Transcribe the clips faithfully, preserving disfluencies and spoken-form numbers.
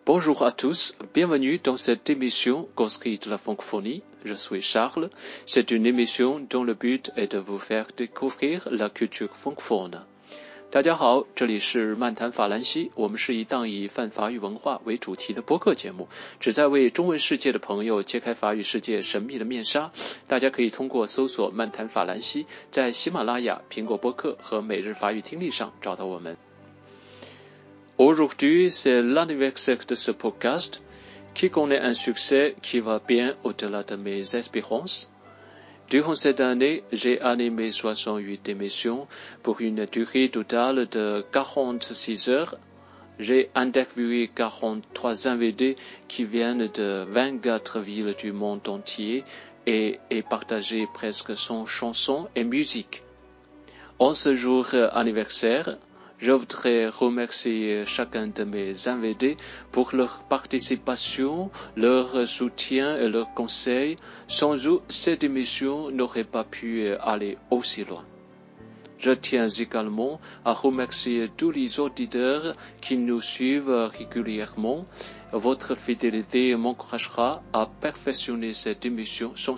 Bonjour à tous, bienvenue dans cette émission consacrée de la francophonie. Je suis Charles. C'est une émission dont le but est de vous faire découvrir la culture francophone. 大家好，这里是漫谈法兰西，我们是一档以泛法语文化为主题的播客节目，旨在为中文世界的朋友揭开法语世界神秘的面纱。大家可以通过搜索漫谈法兰西，在喜马拉雅、苹果播客和每日法语听力上找到我们。Aujourd'hui, c'est l'anniversaire de ce podcast qui connaît un succès qui va bien au-delà de mes espérances. Durant cette année, j'ai animé soixante-huit émissions pour une durée totale de quarante-six heures. J'ai interviewé quarante-trois invités qui viennent de vingt-quatre villes du monde entier et ai partagé presque cent chansons et musiques. En ce jour anniversaire,Je voudrais remercier chacun de mes invités pour leur participation, leur soutien et leurs conseils. Sans eux, cette émission n'aurait pas pu aller aussi loin. Je tiens également à remercier tous les auditeurs qui nous suivent régulièrement. Votre fidélité m'encouragera à perfectionner cette émission sans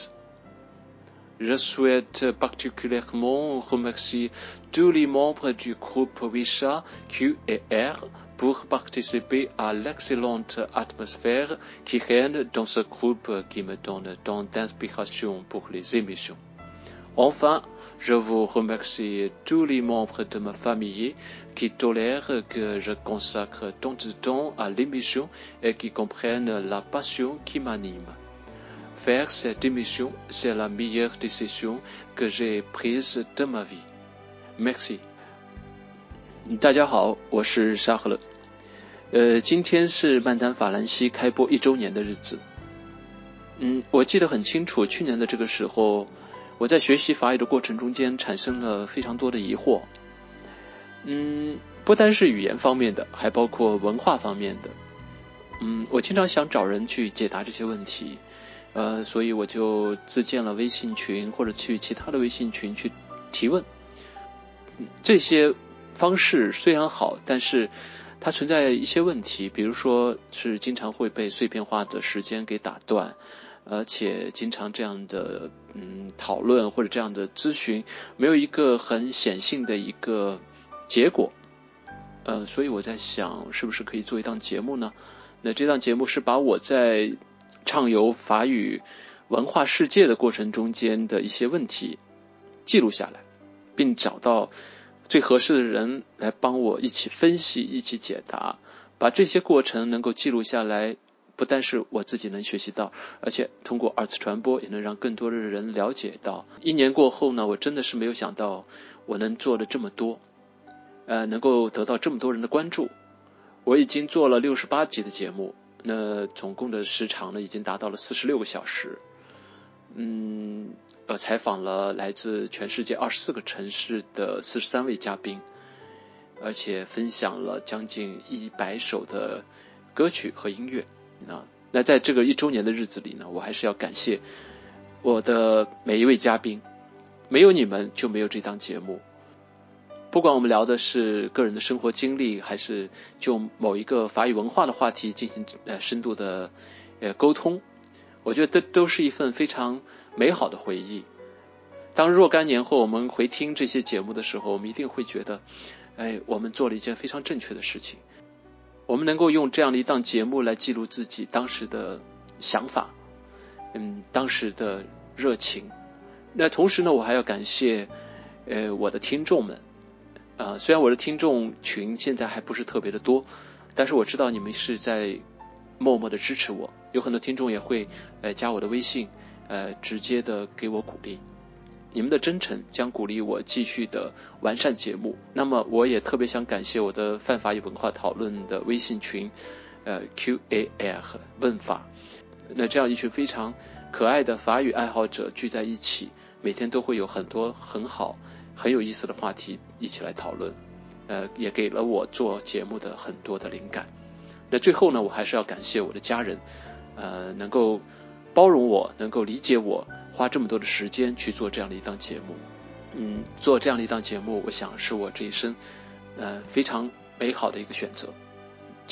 cesse.Je souhaite particulièrement remercier tous les membres du groupe Wisha Q et R pour participer à l'excellente atmosphère qui règne dans ce groupe qui me donne tant d'inspiration pour les émissions. Enfin, je vous remercie tous les membres de ma famille qui tolèrent que je consacre tant de temps à l'émission et qui comprennent la passion qui m'anime.Faire cette émission, c'est la meilleure décision que j'ai prise de ma vie. Merci. 大家好，我是沙赫勒。呃，今天是漫谈法兰西开播一周年的日子。嗯，我记得很清楚，去年的这个时候，我在学习法语的过程中间产生了非常多的疑惑。嗯，不单是语言方面的，还包括文化方面的。嗯，我经常想找人去解答这些问题。呃，所以我就自建了微信群，或者去其他的微信群去提问。这些方式虽然好，但是它存在一些问题，比如说是经常会被碎片化的时间给打断，而且经常这样的嗯讨论或者这样的咨询没有一个很显性的一个结果。呃，所以我在想，是不是可以做一档节目呢？那这档节目是把我在畅游法语文化世界的过程中间的一些问题记录下来，并找到最合适的人来帮我一起分析，一起解答。把这些过程能够记录下来，不但是我自己能学习到，而且通过二次传播也能让更多的人了解到。一年过后呢，我真的是没有想到我能做的这么多，呃，能够得到这么多人的关注。我已经做了六十八集的节目，那总共的时长呢，已经达到了四十六个小时。嗯，呃，采访了来自全世界二十四个城市的四十三位嘉宾，而且分享了将近一百首的歌曲和音乐。那那在这个一周年的日子里呢，我还是要感谢我的每一位嘉宾，没有你们就没有这档节目。不管我们聊的是个人的生活经历，还是就某一个法语文化的话题进行呃深度的呃沟通，我觉得都都是一份非常美好的回忆。当若干年后我们回听这些节目的时候，我们一定会觉得，哎，我们做了一件非常正确的事情。我们能够用这样的一档节目来记录自己当时的想法，嗯，当时的热情。那同时呢，我还要感谢呃我的听众们。呃，虽然我的听众群现在还不是特别的多，但是我知道你们是在默默的支持我，有很多听众也会呃加我的微信，呃直接的给我鼓励。你们的真诚将鼓励我继续的完善节目。那么我也特别想感谢我的泛法语文化讨论的微信群，呃 Q A R 问法。那这样一群非常可爱的法语爱好者聚在一起，每天都会有很多很好很有意思的话题一起来讨论，呃，也给了我做节目的很多的灵感。那最后呢，我还是要感谢我的家人，呃，能够包容我，能够理解我，花这么多的时间去做这样的一档节目。嗯，做这样的一档节目，我想是我这一生，呃，非常美好的一个选择。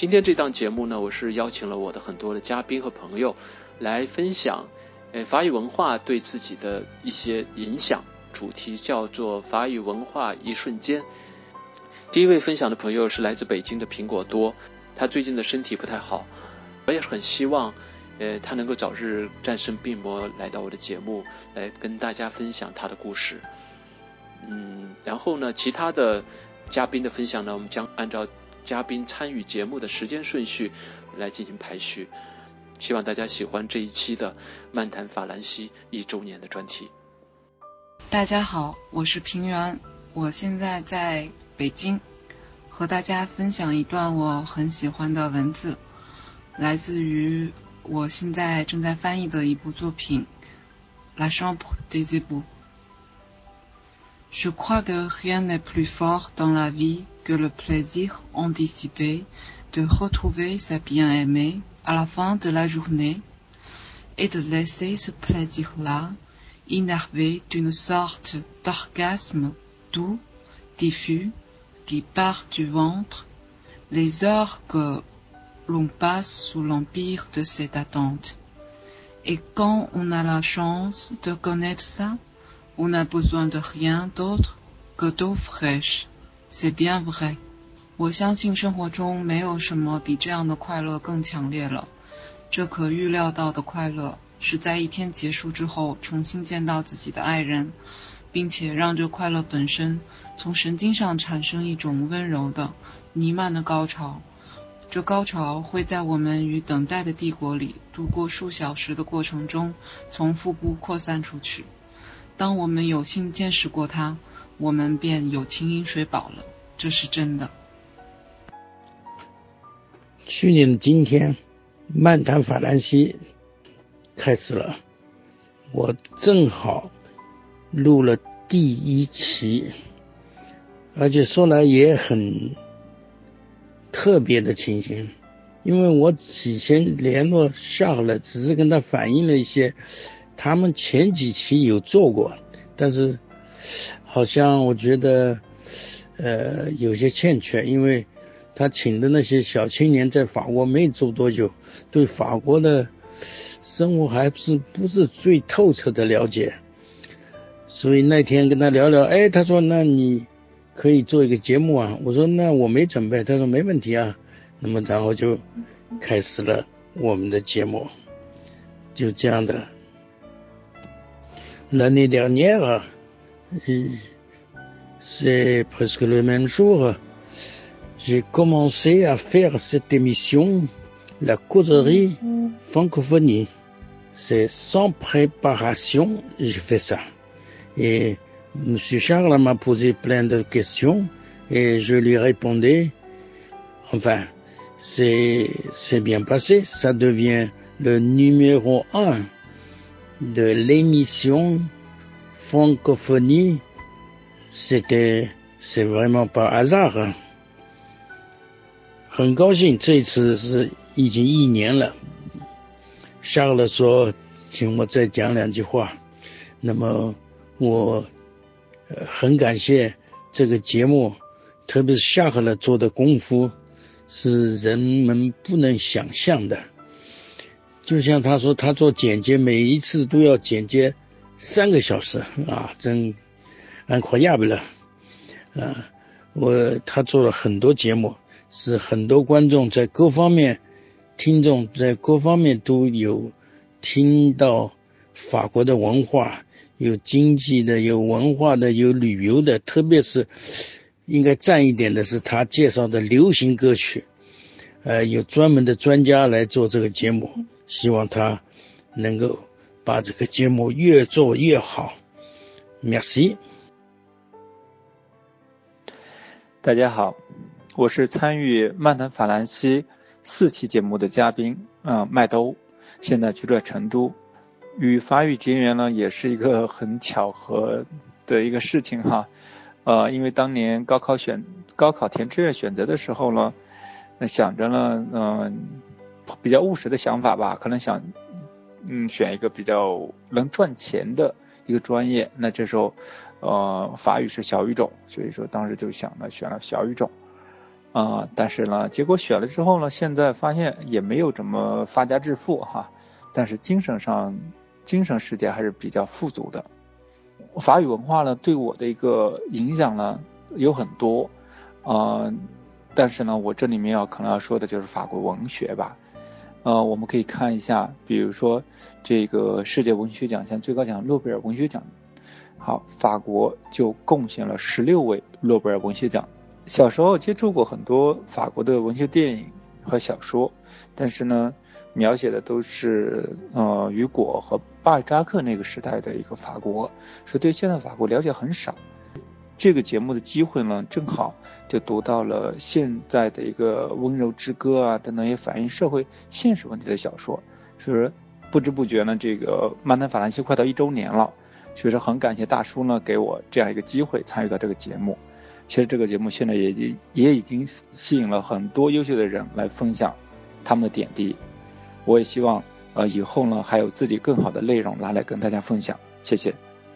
今天这档节目呢，我是邀请了我的很多的嘉宾和朋友来分享呃法语文化对自己的一些影响，主题叫做法语文化一瞬间。第一位分享的朋友是来自北京的苹果多，他最近的身体不太好，我也很希望呃他能够早日战胜病魔，来到我的节目来跟大家分享他的故事。嗯，然后呢，其他的嘉宾的分享呢，我们将按照嘉宾参与节目的时间顺序来进行排序。希望大家喜欢这一期的漫谈法兰西一周年的专题。 大家好，我是平原，我现在在北京，和大家分享一段我很喜欢的文字，来自于我现在正在翻译的一部作品《La Chambre des éboues》。Je crois que rien n'est plus fort dans la vie que le plaisir anticipé de retrouver sa bien-aimée à la fin de la journée et de laisser ce plaisir-là innervé d'une sorte d'orgasme doux, diffus, qui part du ventre, les heures que l'on passe sous l'empire de cette attente. Et quand on a la chance de connaître ça, on n'a besoin de rien d'autre que d'eau fraîche. C'est bien vrai. 我相信生活中没有什么比这样的快乐更强烈了。这可预料到的快乐，是在一天结束之后重新见到自己的爱人，并且让这快乐本身从神经上产生一种温柔的、弥漫的高潮。这高潮会在我们与等待的帝国里度过数小时的过程中从腹部扩散出去。当我们有幸见识过它，我们便有情饮水饱了，这是真的。 去年的今天，漫谈法兰西开始了，我正好录了第一期，而且说来也很特别的情形，因为我以前联络下了，只是跟他反映了一些他们前几期有做过，但是好像我觉得呃有些欠缺，因为他请的那些小青年在法国没住多久，对法国的生活还是不是最透彻的了解，所以那天跟他聊聊，哎，他说那你可以做一个节目啊，我说那我没准备，他说没问题啊，那么然后就开始了我们的节目，就这样的。L'année dernière, c'est presque le même jour, j'ai commencé à faire cette émission, la causerie francophonie. C'est sans préparation, j'ai fait ça. Et M. Charles m'a posé plein de questions et je lui répondais. Enfin, c'est, c'est bien passé. Ça devient le numéro un de l'émission francophonie. C'était, c'est vraiment pas hasard. 很高兴，这次是已经一年了。夏勒说请我再讲两句话，那么我、呃、很感谢这个节目，特别是夏勒做的功夫是人们不能想象的。就像他说他做剪接，每一次都要剪接三个小时啊，真incroyable了啊！我他做了很多节目，是很多观众在各方面，听众在各方面都有听到法国的文化，有经济的，有文化的，有旅游的，特别是应该赞一点的是他介绍的流行歌曲，呃，有专门的专家来做这个节目，希望他能够把这个节目越做越好。Merci。 大家好，我是参与漫谈法兰西四期节目的嘉宾，嗯、呃，麦兜，现在居住成都。与法语结缘呢，也是一个很巧合的一个事情哈。呃，因为当年高考选高考填志愿选择的时候呢，那想着呢，嗯、呃，比较务实的想法吧，可能想，嗯，选一个比较能赚钱的一个专业。那这时候，呃，法语是小语种，所以说当时就想了选了小语种。 啊、呃，但是呢，结果选了之后呢，现在发现也没有怎么发家致富哈，但是精神上，精神世界还是比较富足的。法语文化呢，对我的一个影响呢有很多，呃，但是呢，我这里面要可能要说的就是法国文学吧。呃，我们可以看一下，比如说这个世界文学奖项最高奖诺贝尔文学奖，好，法国就贡献了十六位诺贝尔文学奖。小时候接触过很多法国的文学电影和小说，但是呢，描写的都是呃雨果和巴尔扎克那个时代的一个法国，所以对现在法国了解很少。这个节目的机会呢，正好就读到了现在的一个温柔之歌啊等等也反映社会现实问题的小说，所以说不知不觉呢，这个漫谈法兰西快到一周年了，所以说很感谢大叔呢给我这样一个机会参与到这个节目。其实这个节目现在也已也已经吸引了很多优秀的人来分享他们的点滴，我也希望呃以后呢还有自己更好的内容拿来跟大家分享，谢谢。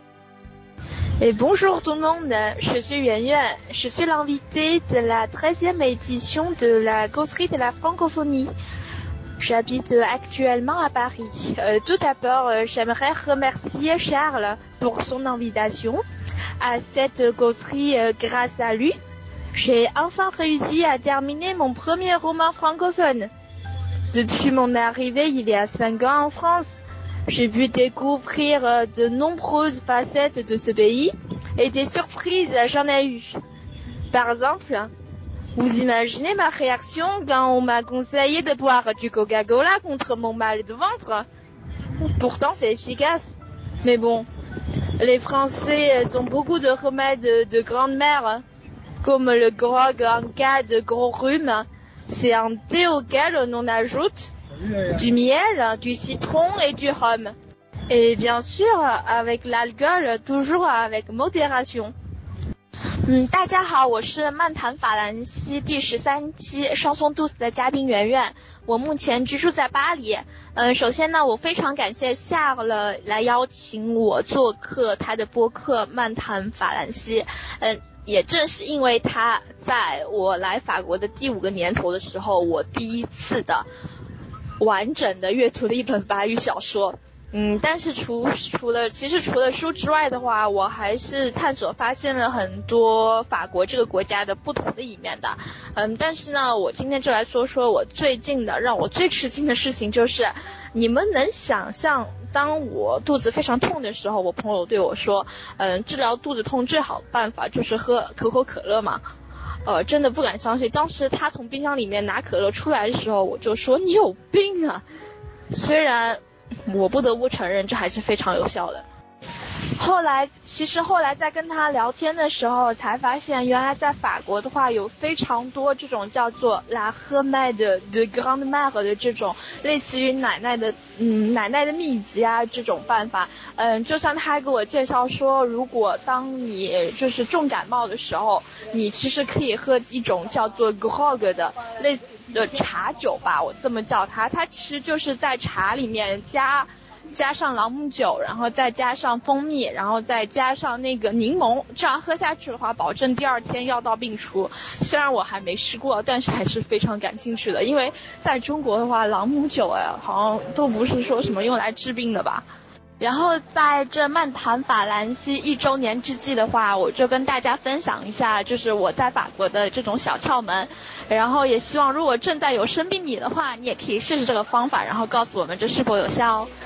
Et bonjour tout le monde, je suis Yuan Yuan, je suis l'invité de la treizième édition de la Causerie de la Francophonie. J'habite actuellement à Paris. Euh, tout d'abord, euh, j'aimerais remercier Charles pour son invitation à cette causerie. Euh, grâce à lui, j'ai enfin réussi à terminer mon premier roman francophone. Depuis mon arrivée il y a cinq ans en France, j'ai pu découvrir euh, de nombreuses facettes de ce pays et des surprises j'en ai eu. Par exemple, vous imaginez ma réaction quand on m'a conseillé de boire du Coca-Cola contre mon mal de ventre? Pourtant c'est efficace. Mais bon, les Français ont beaucoup de remèdes de grande-mère, comme le grog en cas de gros rhume. C'est un thé auquel on ajoute du miel, du citron et du rhum. Et bien sûr, avec l'alcool, toujours avec modération. 嗯，大家好，我是漫谈法兰西第十三期双松肚子的嘉宾圆圆，我目前居住在巴黎。嗯，首先呢，我非常感谢夏了来邀请我做客他的播客漫谈法兰西。嗯，也正是因为他，在我来法国的第五个年头的时候，我第一次的完整的阅读了一本法语小说。嗯，但是除除了其实除了书之外的话，我还是探索发现了很多法国这个国家的不同的一面的。嗯，但是呢，我今天就来说说我最近的让我最吃惊的事情，就是你们能想象，当我肚子非常痛的时候，我朋友对我说，嗯，治疗肚子痛最好的办法就是喝可口可乐嘛。呃，真的不敢相信，当时他从冰箱里面拿可乐出来的时候，我就说你有病啊！虽然我不得不承认，这还是非常有效的。后来，其实后来在跟他聊天的时候，才发现原来在法国的话，有非常多这种叫做 la remède de grande-mère 的这种类似于奶奶的，嗯，奶奶的秘籍啊这种办法。嗯，就像他给我介绍说，如果当你就是重感冒的时候，你其实可以喝一种叫做 grog 的类似的茶酒吧，我这么叫它，它其实就是在茶里面加加上朗姆酒，然后再加上蜂蜜，然后再加上那个柠檬，这样喝下去的话，保证第二天药到病除。虽然我还没试过，但是还是非常感兴趣的，因为在中国的话，朗姆酒哎，好像都不是说什么用来治病的吧。然后在这漫谈法兰西一周年之际的话，我就跟大家分享一下，就是我在法国的这种小窍门。然后也希望如果正在有生病你的话，你也可以试试这个方法，然后告诉我们这是否有效哦。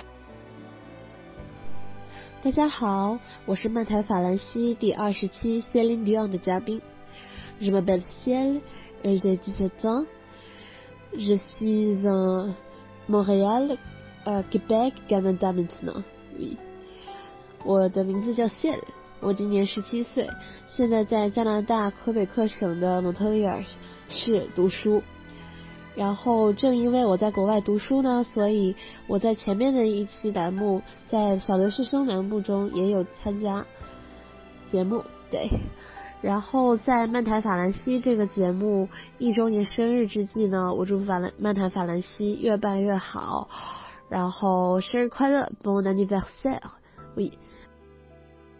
大家好，我是漫谈法兰西第二十期 Céline Dion 的嘉宾。Je m'appelle Ciel et j'ai dix-sept ans. Je suis en Montréal, euh, Québec, Canada maintenant. Oui. 我的名字叫 Ciel， 我今年十七岁，现在在加拿大魁北克省的蒙特利尔市读书。然后正因为我在国外读书呢，所以我在前面的一期栏目，在小留学生栏目中也有参加节目。对，然后在漫谈法兰西这个节目一周年生日之际呢，我祝法兰漫谈法兰西越办越好，然后生日快乐 Bon anniversaire。 Oui。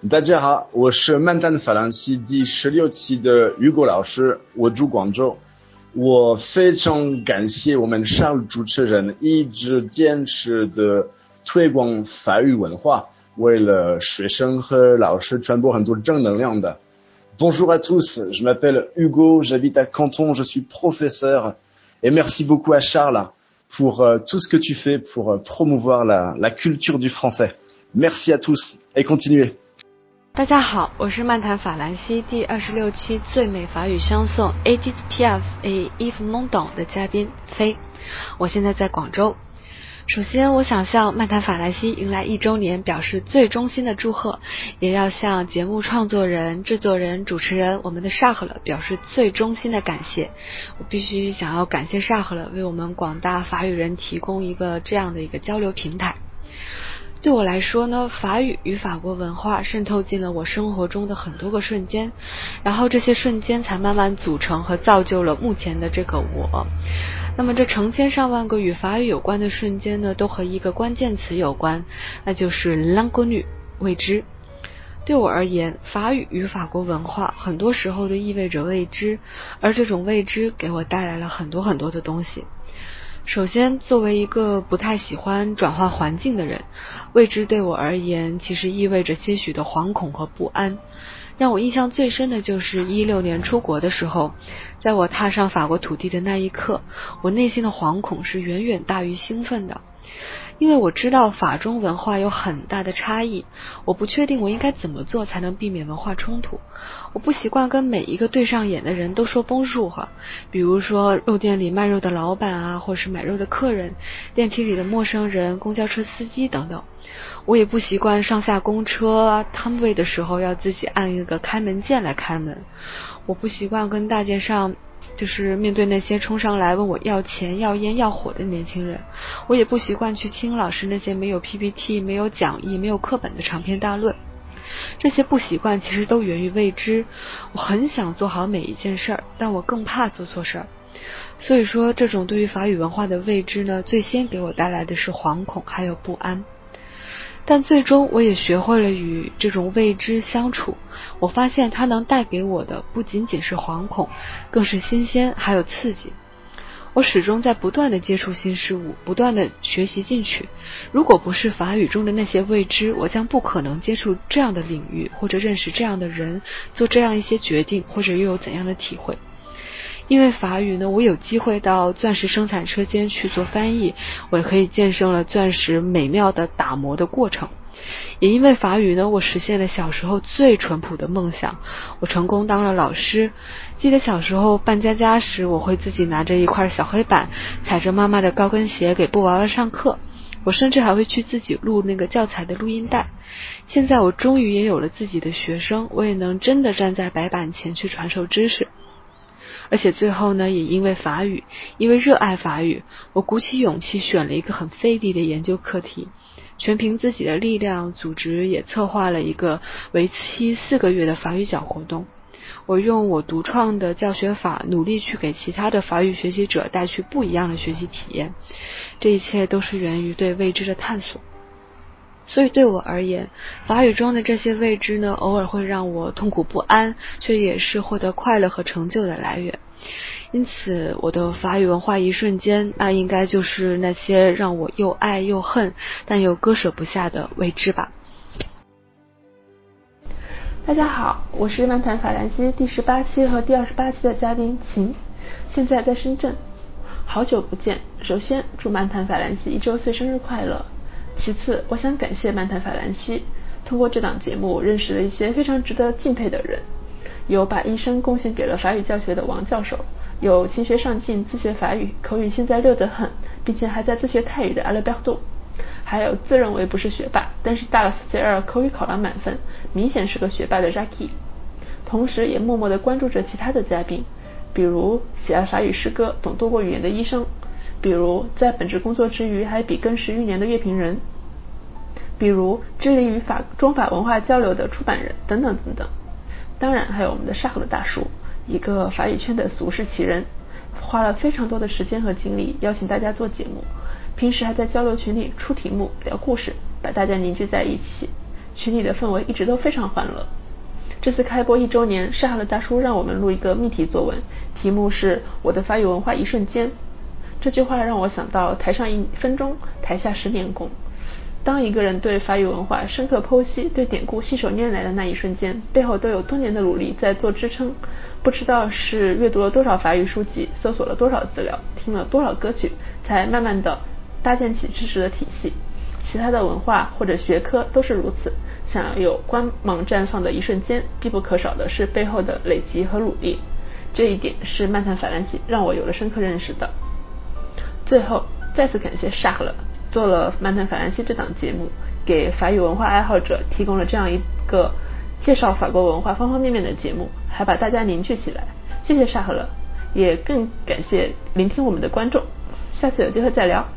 大家好，我是漫谈法兰西第十六期的雨果老师，我住广州。我非常感谢我们沙鲁主持人一直坚持的推广法语文化，为了学生和老师传播很多正能量的。Bonjour à tous, je m'appelle Hugo, j'habite à Canton, je suis professeur et merci beaucoup à Charles pour euh, tout ce que tu fais pour euh, promouvoir la, la culture du français. Merci à tous et continuez. 大家好，我是漫谈法兰西第二十六期最美法语相送 Edith Piaf et Yves Montand 的嘉宾飞，我现在在广州。首先我想向漫谈法兰西迎来一周年表示最衷心的祝贺，也要向节目创作人、制作人、主持人我们的沙赫勒表示最衷心的感谢。我必须想要感谢沙赫勒为我们广大法语人提供一个这样的一个交流平台。对我来说呢，法语与法国文化渗透进了我生活中的很多个瞬间，然后这些瞬间才慢慢组成和造就了目前的这个我。那么这成千上万个与法语有关的瞬间呢，都和一个关键词有关，那就是 l'inconnu 未知。对我而言，法语与法国文化很多时候都意味着未知，而这种未知给我带来了很多很多的东西。首先，作为一个不太喜欢转换环境的人，未知对我而言其实意味着些许的惶恐和不安。让我印象最深的就是一六年出国的时候，在我踏上法国土地的那一刻，我内心的惶恐是远远大于兴奋的。因为我知道法中文化有很大的差异，我不确定我应该怎么做才能避免文化冲突。我不习惯跟每一个对上眼的人都说 bonjour， 比如说肉店里卖肉的老板啊，或是买肉的客人，电梯里的陌生人，公交车司机等等。我也不习惯上下公车摊位的时候要自己按一个开门键来开门。我不习惯跟大街上就是面对那些冲上来问我要钱要烟要火的年轻人，我也不习惯去听老师那些没有 P P T 没有讲义没有课本的长篇大论。这些不习惯其实都源于未知，我很想做好每一件事儿，但我更怕做错事儿。所以说这种对于法语文化的未知呢，最先给我带来的是惶恐还有不安。但最终我也学会了与这种未知相处，我发现它能带给我的不仅仅是惶恐，更是新鲜还有刺激。我始终在不断的接触新事物，不断的学习进取。如果不是法语中的那些未知，我将不可能接触这样的领域，或者认识这样的人，做这样一些决定，或者又有怎样的体会。因为法语呢，我有机会到钻石生产车间去做翻译，我也可以见证了钻石美妙的打磨的过程。也因为法语呢，我实现了小时候最淳朴的梦想，我成功当了老师。记得小时候办家家时，我会自己拿着一块小黑板，踩着妈妈的高跟鞋给布娃娃上课，我甚至还会去自己录那个教材的录音带。现在我终于也有了自己的学生，我也能真的站在白板前去传授知识。而且最后呢，也因为法语，因为热爱法语，我鼓起勇气选了一个很费力的研究课题，全凭自己的力量，组织也策划了一个为期四个月的法语角活动。我用我独创的教学法，努力去给其他的法语学习者带去不一样的学习体验。这一切都是源于对未知的探索。所以对我而言，法语中的这些未知呢，偶尔会让我痛苦不安，却也是获得快乐和成就的来源。因此我的法语文化一瞬间，那应该就是那些让我又爱又恨但又割舍不下的未知吧。 大家好，我是漫谈法兰西第十八期和第二十八期的嘉宾秦，现在在深圳。好久不见，首先祝漫谈法兰西一周岁生日快乐。其次，我想感谢漫谈法兰西，通过这档节目认识了一些非常值得敬佩的人，有把一生贡献给了法语教学的王教授，有勤学上进自学法语，口语现在溜得很，并且还在自学泰语的阿勒贝多，还有自认为不是学霸，但是大了 C 二 口语考了满分，明显是个学霸的 Jackie， 同时也默默地关注着其他的嘉宾，比如喜爱法语诗歌、懂多国语言的医生，比如在本职工作之余还笔耕十余年的乐评人，比如致力于法中法文化交流的出版人等等等等。当然还有我们的沙赫的大叔，一个法语圈的俗世奇人，花了非常多的时间和精力邀请大家做节目，平时还在交流群里出题目聊故事，把大家凝聚在一起。 群里的氛围一直都非常欢乐。这次开播一周年，沙哈勒大叔让我们录一个密题作文，题目是我的法语文化一瞬间。这句话让我想到台上一分钟，台下十年功。当一个人对法语文化深刻剖析，对典故信手拈来的那一瞬间，背后都有多年的努力在做支撑。不知道是阅读了多少法语书籍，搜索了多少资料，听了多少歌曲，才慢慢的搭建起知识的体系。其他的文化或者学科都是如此，想要有光芒绽放的一瞬间，必不可少的是背后的累积和努力。这一点是漫谈法兰西让我有了深刻认识的。最后再次感谢沙赫勒做了漫谈法兰西这档节目，给法语文化爱好者提供了这样一个介绍法国文化方方面面的节目，还把大家凝聚起来。谢谢沙赫勒，也更感谢聆听我们的观众，下次有机会再聊。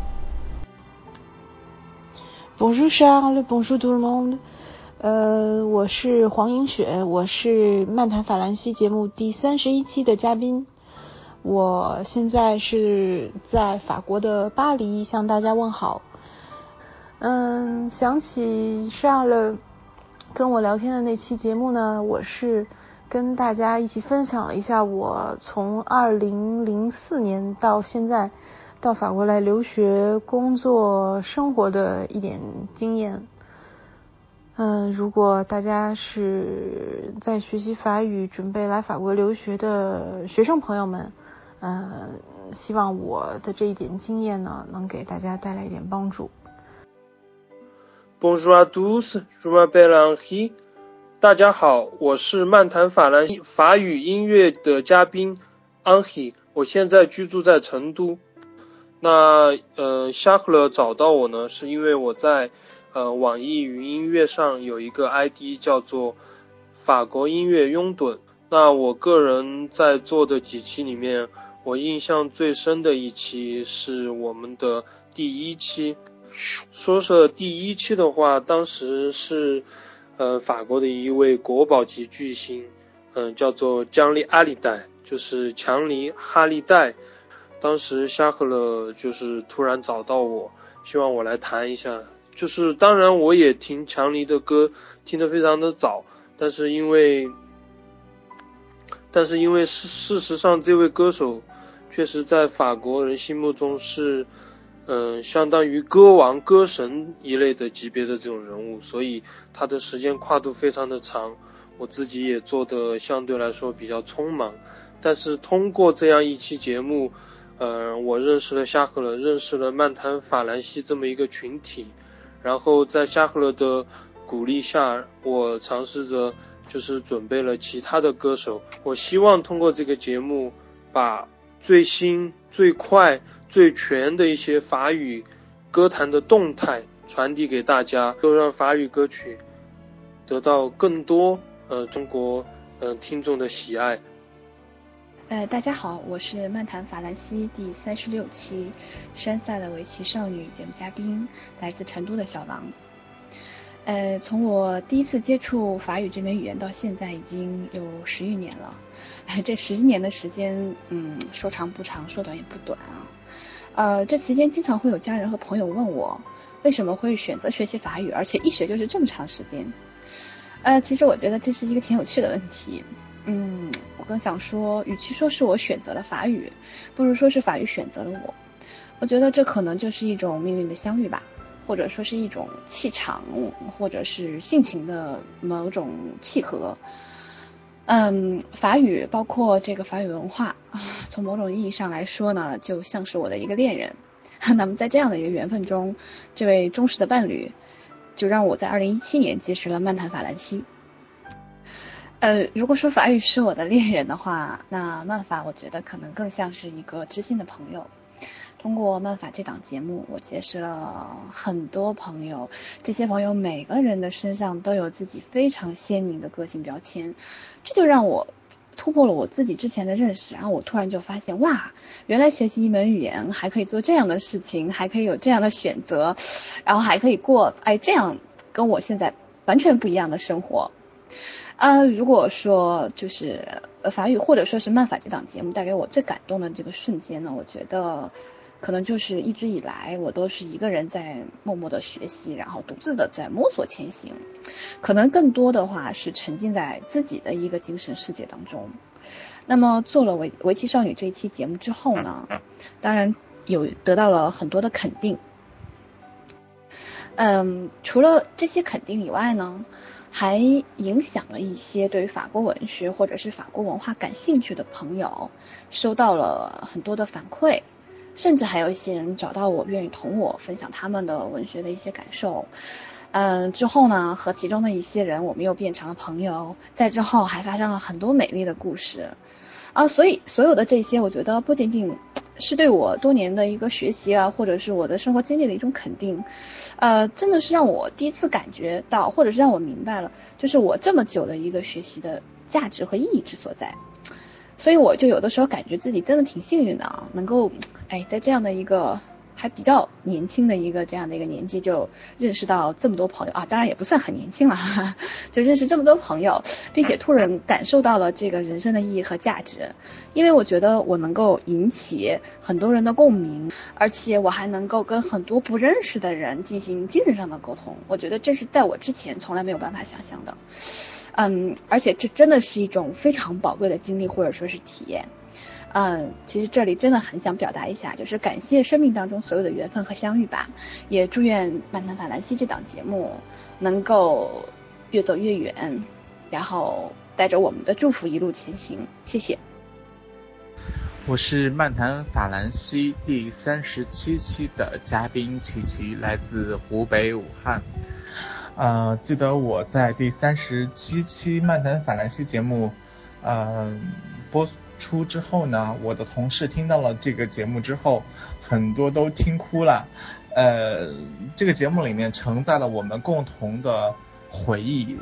Bonjour Charles, bonjour tout le monde。呃，我是黄莹雪，我是漫谈法兰西节目第三十一期的嘉宾。我现在是在法国的巴黎向大家问好。嗯，想起上了跟我聊天的那期节目呢，我是跟大家一起分享了一下我从二零零四年到现在到法国来留学、工作、生活的一点经验。嗯，如果大家是在学习法语、准备来法国留学的学生朋友们，嗯，希望我的这一点经验呢，能给大家带来一点帮助。 Bonjour à tous, je m'appelle Henri。大家好，我是漫谈法兰西法语音乐的嘉宾 Henri， 我现在居住在成都。那呃，沙赫勒找到我呢，是因为我在呃网易云音乐上有一个 I D 叫做法国音乐拥趸。那我个人在做的几期里面，我印象最深的一期是我们的第一期。说是第一期的话，当时是呃法国的一位国宝级巨星，嗯、呃，叫做江利阿利代，就是强尼哈利代。当时沙赫勒就是突然找到我，希望我来谈一下。就是当然我也听强尼的歌听得非常的早，但是因为但是因为事事实上这位歌手确实在法国人心目中是嗯、呃，相当于歌王歌神一类的级别的这种人物，所以他的时间跨度非常的长，我自己也做的相对来说比较匆忙。但是通过这样一期节目，呃，我认识了沙赫勒，认识了漫谈法兰西这么一个群体，然后在沙赫勒的鼓励下，我尝试着就是准备了其他的歌手，我希望通过这个节目把最新最快最全的一些法语歌坛的动态传递给大家，都让法语歌曲得到更多呃中国呃听众的喜爱。 呃，大家好，我是漫谈法兰西第三十六期山塞的围棋少女节目嘉宾，来自成都的小狼。呃，从我第一次接触法语这门语言到现在已经有十余年了，这十年的时间，嗯，说长不长，说短也不短啊。呃，这期间经常会有家人和朋友问我，为什么会选择学习法语，而且一学就是这么长时间。呃，其实我觉得这是一个挺有趣的问题。嗯，我更想说，与其说是我选择了法语，不如说是法语选择了我。我觉得这可能就是一种命运的相遇吧，或者说是一种气场，或者是性情的某种契合。嗯，法语包括这个法语文化，从某种意义上来说呢，就像是我的一个恋人。那么在这样的一个缘分中，这位忠实的伴侣，就让我在二零一七年结识了漫谈法兰西。呃，如果说法语是我的恋人的话，那漫法我觉得可能更像是一个知心的朋友。通过漫法这档节目，我结识了很多朋友，这些朋友每个人的身上都有自己非常鲜明的个性标签，这就让我突破了我自己之前的认识，然后我突然就发现，哇，原来学习一门语言还可以做这样的事情，还可以有这样的选择，然后还可以过哎这样跟我现在完全不一样的生活。啊，如果说就是呃法语或者说是漫法这档节目带给我最感动的这个瞬间呢，我觉得可能就是一直以来我都是一个人在默默的学习，然后独自的在摸索前行，可能更多的话是沉浸在自己的一个精神世界当中。那么做了围围棋少女这一期节目之后呢，当然有得到了很多的肯定。嗯，除了这些肯定以外呢，还影响了一些对法国文学或者是法国文化感兴趣的朋友，收到了很多的反馈，甚至还有一些人找到我，愿意同我分享他们的文学的一些感受。嗯，之后呢，和其中的一些人我们又变成了朋友，在之后还发生了很多美丽的故事啊。所以所有的这些，我觉得不仅仅是对我多年的一个学习啊，或者是我的生活经历的一种肯定，呃，真的是让我第一次感觉到，或者是让我明白了，就是我这么久的一个学习的价值和意义之所在。所以我就有的时候感觉自己真的挺幸运的啊，能够哎在这样的一个还比较年轻的一个这样的一个年纪就认识到这么多朋友啊，当然也不算很年轻了哈哈，就认识这么多朋友，并且突然感受到了这个人生的意义和价值。因为我觉得我能够引起很多人的共鸣，而且我还能够跟很多不认识的人进行精神上的沟通，我觉得这是在我之前从来没有办法想象的。嗯，而且这真的是一种非常宝贵的经历或者说是体验。嗯，其实这里真的很想表达一下，就是感谢生命当中所有的缘分和相遇吧，也祝愿漫谈法兰西这档节目能够越走越远，然后带着我们的祝福一路前行。谢谢。 我是漫谈法兰西第三十七期的嘉宾琪琪，来自湖北武汉。呃，记得我在第三十七期漫谈法兰西节目呃播出之后呢，我的同事听到了这个节目之后，很多都听哭了。呃，这个节目里面承载了我们共同的回忆。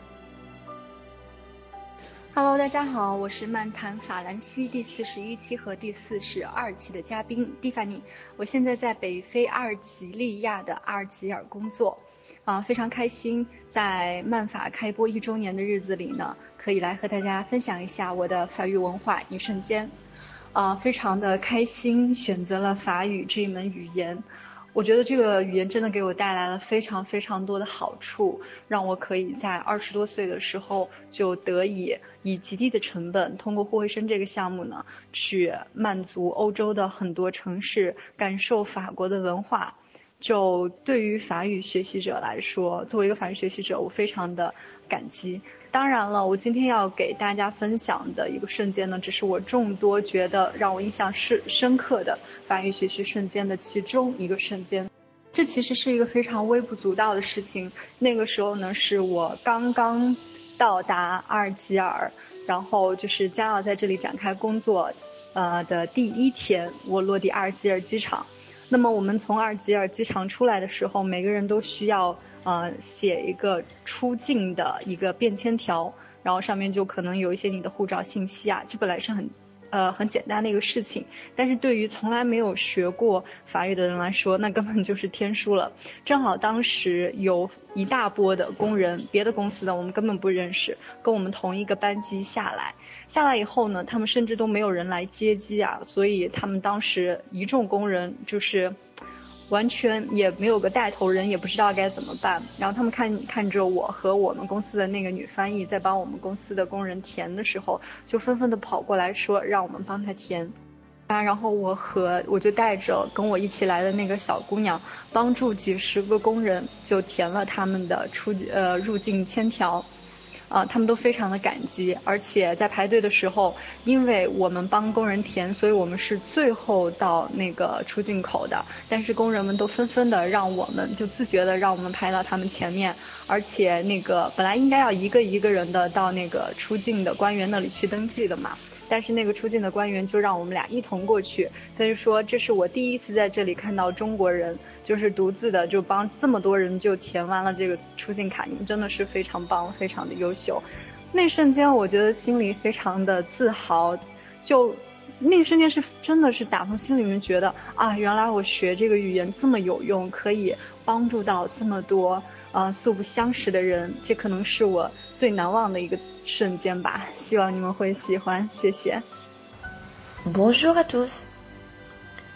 Hello， 大家好，我是漫谈法兰西第四十一期和第四十二期的嘉宾蒂凡尼。我现在在北非阿尔及利亚的阿尔及尔工作，啊、呃，非常开心，在漫法开播一周年的日子里呢，可以来和大家分享一下我的法语文化一瞬间。啊、呃，非常的开心，选择了法语这一门语言。我觉得这个语言真的给我带来了非常非常多的好处，让我可以在二十多岁的时候就得以以极低的成本，通过互惠生这个项目呢，去满足欧洲的很多城市，感受法国的文化。就对于法语学习者来说，作为一个法语学习者，我非常的感激。当然了，我今天要给大家分享的一个瞬间呢，只是我众多觉得让我印象是深刻的法语学习瞬间的其中一个瞬间。这其实是一个非常微不足道的事情。那个时候呢，是我刚刚到达阿尔及尔，然后就是将要在这里展开工作呃的第一天，我落地阿尔及尔机场。那么我们从阿尔及尔机场出来的时候，每个人都需要呃写一个出境的一个便签条，然后上面就可能有一些你的护照信息啊，这本来是很呃很简单的一个事情，但是对于从来没有学过法语的人来说，那根本就是天书了。正好当时有一大波的工人，别的公司的我们根本不认识，跟我们同一个班机下来。下来以后呢，他们甚至都没有人来接机啊，所以他们当时一众工人就是完全也没有个带头人，也不知道该怎么办。然后他们看看着我和我们公司的那个女翻译在帮我们公司的工人填的时候，就纷纷的跑过来说让我们帮他填啊。然后我和我就带着跟我一起来的那个小姑娘，帮助几十个工人就填了他们的出呃入境签条。啊，他们都非常的感激，而且在排队的时候，因为我们帮工人填，所以我们是最后到那个出境口的，但是工人们都纷纷的让我们就自觉的让我们排到他们前面，而且那个本来应该要一个一个人的到那个出境的官员那里去登记的嘛，但是那个出境的官员就让我们俩一同过去，他就说这是我第一次在这里看到中国人就是独自的就帮这么多人就填完了这个出境卡，你们真的是非常棒，非常的优秀。那瞬间我觉得心里非常的自豪，就那瞬间是真的是打从心里面觉得啊，原来我学这个语言这么有用，可以帮助到这么多呃素不相识的人，这可能是我最难忘的一个瞬间吧，希望你们会喜欢，谢谢。 Bonjour à tous.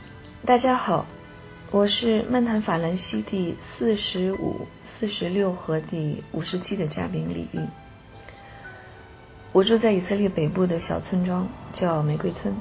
大家好，我是漫谈法兰西第四十五、四十六和第五十期的嘉宾李玉。我住在以色列北部的小村庄，叫玫瑰村。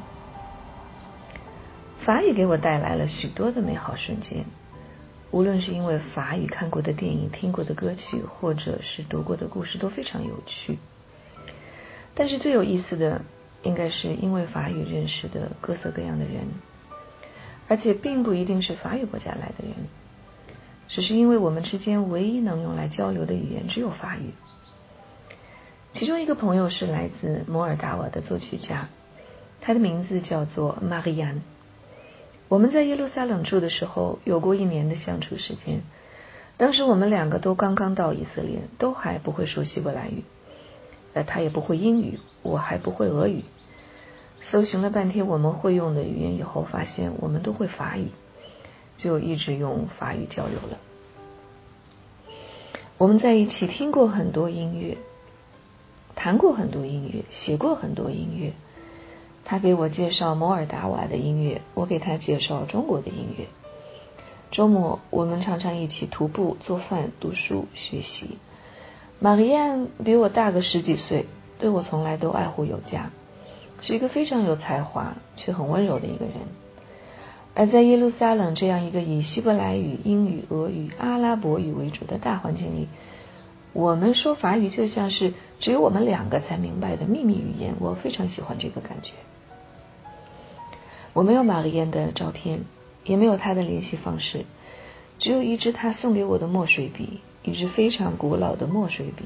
法语给我带来了许多的美好瞬间，无论是因为法语看过的电影、听过的歌曲，或者是读过的故事都非常有趣。但是最有意思的，应该是因为法语认识的各色各样的人，而且并不一定是法语国家来的人，只是因为我们之间唯一能用来交流的语言只有法语。其中一个朋友是来自摩尔达瓦的作曲家，他的名字叫做玛丽安。我们在耶路撒冷住的时候有过一年的相处时间，当时我们两个都刚刚到以色列，都还不会说希伯来语，呃，他也不会英语，我还不会俄语。搜寻了半天我们会用的语言以后，发现我们都会法语，就一直用法语交流了。我们在一起听过很多音乐，弹过很多音乐，写过很多音乐。他给我介绍摩尔达瓦的音乐，我给他介绍中国的音乐。周末我们常常一起徒步、做饭、读书、学习。玛丽安比我大个十几岁，对我从来都爱护有加，是一个非常有才华却很温柔的一个人。而在耶路撒冷这样一个以希伯来语、英语、俄语、阿拉伯语为主的大环境里，我们说法语就像是只有我们两个才明白的秘密语言，我非常喜欢这个感觉。我没有玛丽安的照片，也没有她的联系方式，只有一支她送给我的墨水笔，一支非常古老的墨水笔。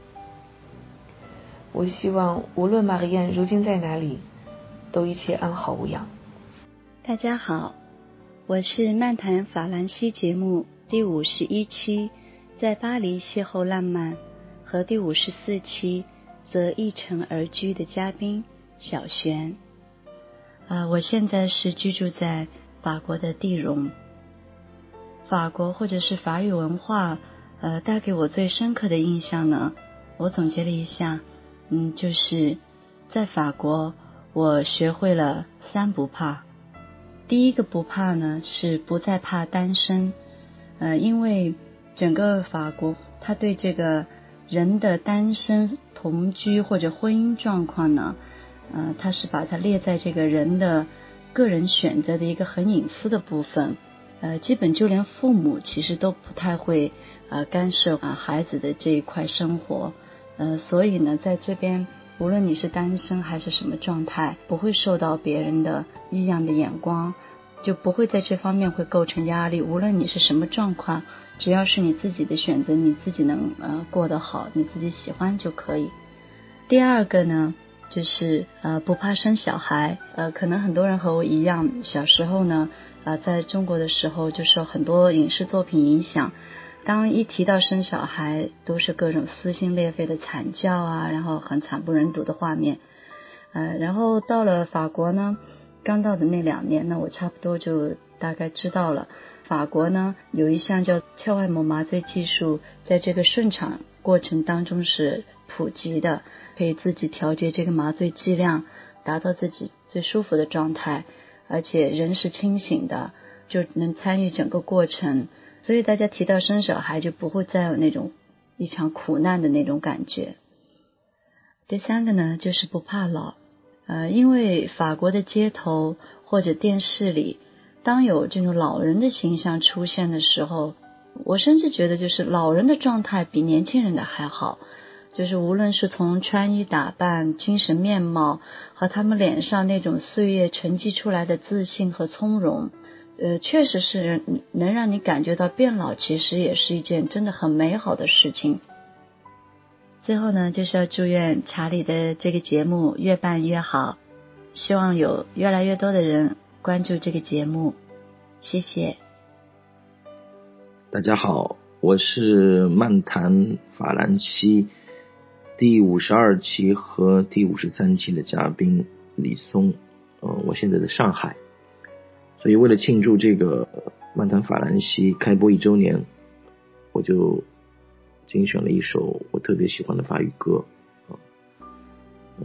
我希望无论玛丽安如今在哪里，都一切安好无恙。 大家好，我是漫谈法兰西节目第五十一期在巴黎邂逅浪漫和第五十四期则一城而居的嘉宾小璇。呃，我现在是居住在法国的蒂荣。法国或者是法语文化，呃，带给我最深刻的印象呢，我总结了一下，嗯，就是在法国，我学会了三不怕。第一个不怕呢，是不再怕单身，呃，因为整个法国，他对这个人的单身同居或者婚姻状况呢，呃，他是把它列在这个人的个人选择的一个很隐私的部分，呃，基本就连父母其实都不太会呃干涉啊孩子的这一块生活，呃，所以呢，在这边无论你是单身还是什么状态，不会受到别人的异样的眼光，就不会在这方面会构成压力。无论你是什么状况，只要是你自己的选择，你自己能呃过得好，你自己喜欢就可以。第二个呢，就是呃不怕生小孩，呃可能很多人和我一样，小时候呢，呃在中国的时候就受很多影视作品影响，当一提到生小孩，都是各种撕心裂肺的惨叫啊，然后很惨不忍睹的画面。呃，然后到了法国呢，刚到的那两年呢，我差不多就大概知道了，法国呢有一项叫鞘外膜麻醉技术，在这个顺产过程当中是普及的，可以自己调节这个麻醉剂量，达到自己最舒服的状态，而且人是清醒的，就能参与整个过程。所以大家提到生小孩就不会再有那种一场苦难的那种感觉。第三个呢，就是不怕老，呃，因为法国的街头或者电视里，当有这种老人的形象出现的时候，我甚至觉得就是老人的状态比年轻人的还好，就是无论是从穿衣打扮、精神面貌和他们脸上那种岁月沉积出来的自信和从容，呃，确实是能让你感觉到变老其实也是一件真的很美好的事情。最后呢，就是要祝愿查理的这个节目越办越好，希望有越来越多的人关注这个节目，谢谢。 大家好，我是漫谈法兰西第五十二期和第五十三期的嘉宾李松，呃，我现在在上海，所以为了庆祝这个漫谈法兰西开播一周年，我就精选了一首我特别喜欢的法语歌，呃，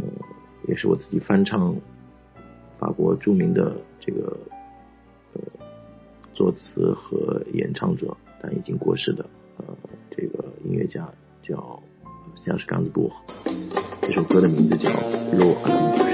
也是我自己翻唱法国著名的这个呃作词和演唱者，但已经过世的呃这个音乐家叫像是冈兹布，这首歌的名字叫《洛阿拉姆士》。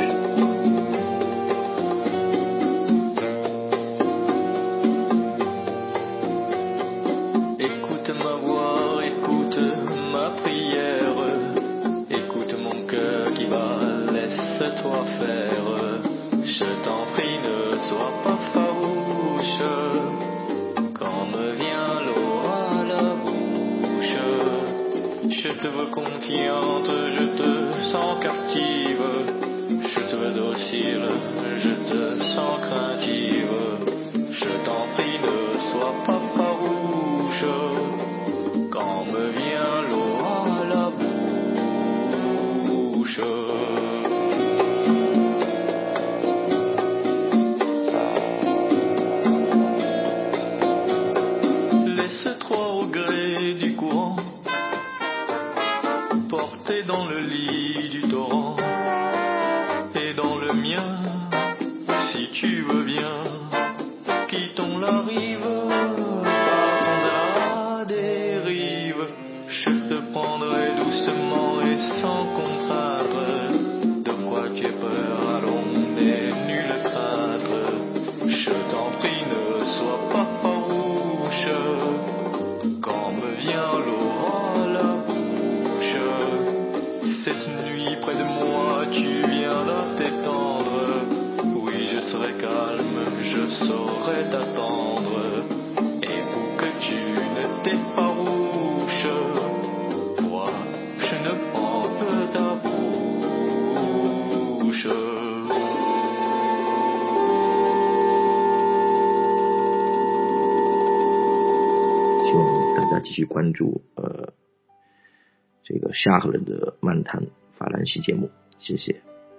Confiante, je te sens captive, je te veux docile, je te sens craintive, je t'en prie ne sois pas farouche, quand me vient l'eau à la bouche. Laisse-toi au gré du courant, porté dans le lit du torrent, et dans le mien, si tu veux bien, quittons la rive, partons à la dérive, je te prendrai doucement et sans contrainte, de quoi tu aies peur, allons, n'aie nulle crainte, je t'en prie ne sois pas farouche, quand me vient l'eau à la bouche. Cette nuit près de moi tu viendras t'étendre, oui je serai calme, je saurai t'attendre, et pour que tu ne t'effarouches, moi je ne prends que ta bouche. 希望大家继续关注呃这个夏赫伦的漫谈法兰西节目，谢谢。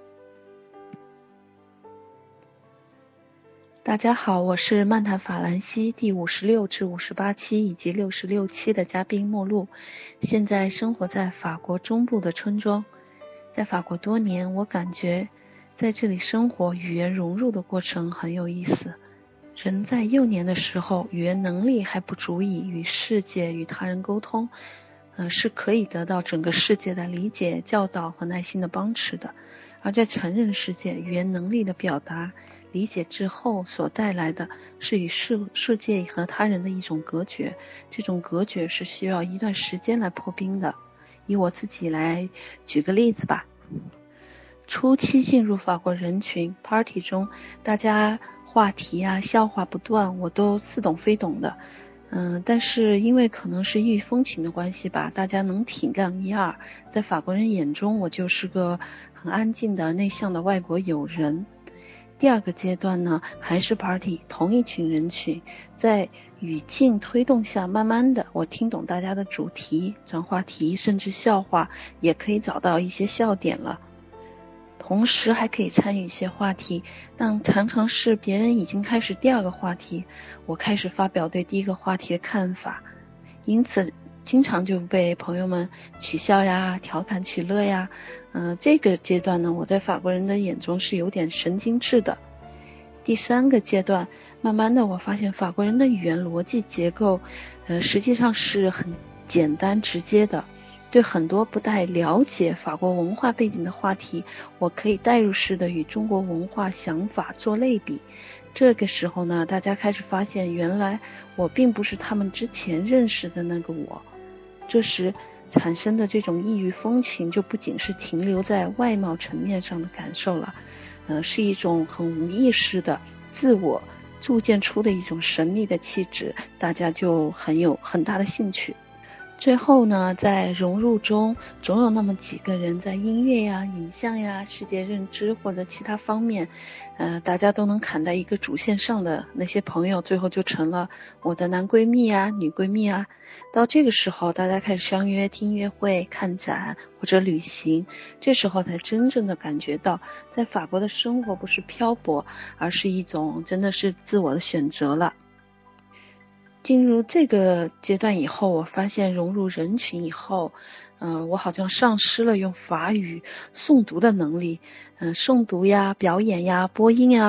大家好，我是漫谈法兰西第五十六至五十八期以及六十六期的嘉宾莫露，现在生活在法国中部的村庄。在法国多年，我感觉在这里生活语言融入的过程很有意思。人在幼年的时候，语言能力还不足以与世界与他人沟通，呃，是可以得到整个世界的理解、教导和耐心的帮持的。而在成人世界，语言能力的表达、理解之后所带来的是与世世界和他人的一种隔绝，这种隔绝是需要一段时间来破冰的。以我自己来举个例子吧。初期进入法国人群 party 中，大家话题啊笑话不断，我都似懂非懂的。嗯，但是因为可能是异域风情的关系吧，大家能体谅一二，在法国人眼中我就是个很安静的内向的外国友人。第二个阶段呢，还是 party， 同一群人群，在语境推动下，慢慢的我听懂大家的主题、转话题，甚至笑话，也可以找到一些笑点了。同时还可以参与一些话题，但常常是别人已经开始第二个话题，我开始发表对第一个话题的看法，因此经常就被朋友们取笑呀、调侃取乐呀。嗯、呃，这个阶段呢，我在法国人的眼中是有点神经质的。第三个阶段，慢慢的我发现法国人的语言逻辑结构，呃，实际上是很简单直接的。对很多不太了解法国文化背景的话题，我可以代入式的与中国文化想法做类比。这个时候呢，大家开始发现，原来我并不是他们之前认识的那个我。这时产生的这种异域风情，就不仅是停留在外貌层面上的感受了，呃，是一种很无意识的自我铸建出的一种神秘的气质，大家就很有很大的兴趣。最后呢，在融入中，总有那么几个人在音乐呀、影像呀、世界认知或者其他方面，呃，大家都能砍在一个主线上的那些朋友，最后就成了我的男闺蜜啊、女闺蜜啊。到这个时候，大家开始相约听音乐会、看展或者旅行，这时候才真正的感觉到，在法国的生活不是漂泊，而是一种真的是自我的选择了。进入这个阶段以后，我发现融入人群以后，嗯、呃，我好像丧失了用法语诵读的能力，嗯、呃，诵读呀、表演呀、播音呀，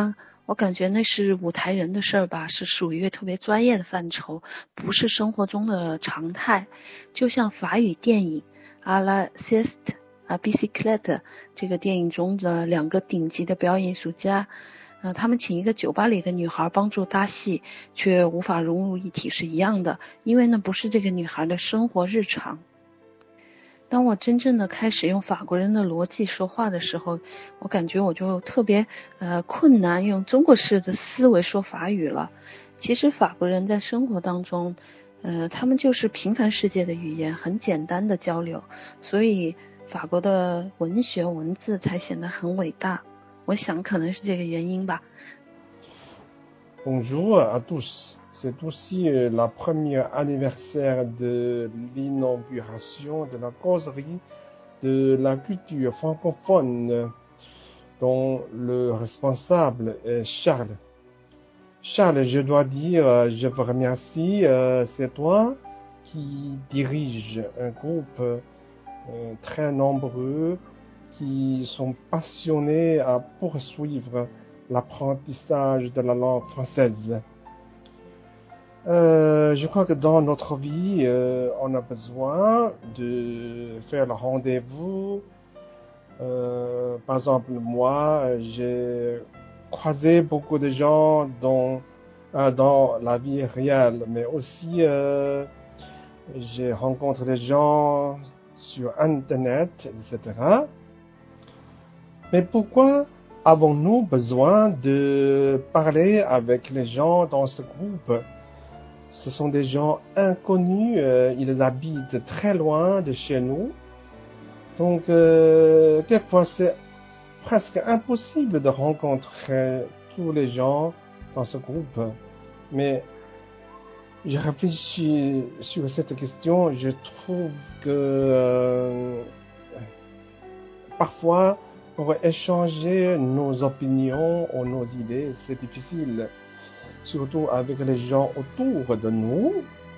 我感觉那是舞台人的事儿吧，是属于特别专业的范畴，不是生活中的常态。就像法语电影《À la sieste à bicyclette》这个电影中的两个顶级的表演艺术家，呃，他们请一个酒吧里的女孩帮助搭戏，却无法融入一体是一样的，因为那不是这个女孩的生活日常。当我真正的开始用法国人的逻辑说话的时候，我感觉我就特别呃困难用中国式的思维说法语了。其实法国人在生活当中，呃，他们就是平凡世界的语言，很简单的交流，所以法国的文学文字才显得很伟大。我想可能是这个原因吧。 Bonjour à tous. C'est aussi la première anniversaire de l'inauguration de la causerie de la culture francophone dont le responsable est Charles. Charles, je dois dire, je vous remercie, c'est toi qui dirige un groupe très nombreux qui sont passionnés à poursuivre l'apprentissage de la langue française. Euh, je crois que dans notre vie, euh, on a besoin de faire le rendez-vous. Euh, par exemple, moi, j'ai croisé beaucoup de gens dans, euh, dans la vie réelle, mais aussi euh, j'ai rencontré des gens sur Internet, et cetera. Mais pourquoi avons-nous besoin de parler avec les gens dans ce groupe? Ce sont des gens inconnus, euh, ils habitent très loin de chez nous. Donc, euh, quelquefois, c'est presque impossible de rencontrer tous les gens dans ce groupe. Mais je réfléchis sur cette question, je trouve que euh, parfois, pour échanger nos opinions ou nos idées, c'est difficile, surtout avec les gens autour de nous.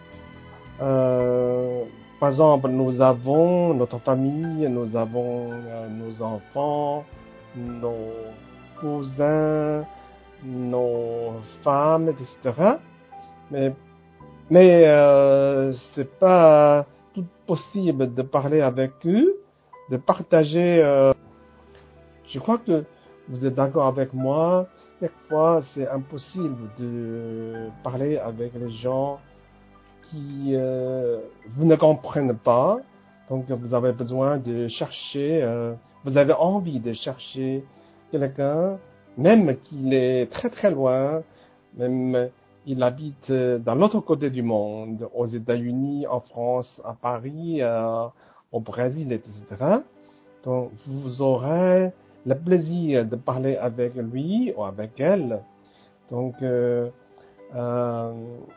Euh, par exemple, nous avons notre famille, nous avons euh, nos enfants, nos cousins, nos femmes, et cetera. Mais, mais euh, c'est pas tout possible de parler avec eux, de partager. Euh, Je crois que vous êtes d'accord avec moi. Quelquefois, c'est impossible de parler avec les gens qui euh, vous ne comprennent pas. Donc, vous avez besoin de chercher, euh, vous avez envie de chercher quelqu'un, même qu'il est très très loin, même il habite dans l'autre côté du monde, aux États-Unis, en France, à Paris, euh, au Brésil, et cetera. Donc, vous aurez le plaisir de parler avec lui ou avec elle. Donc, euh, euh,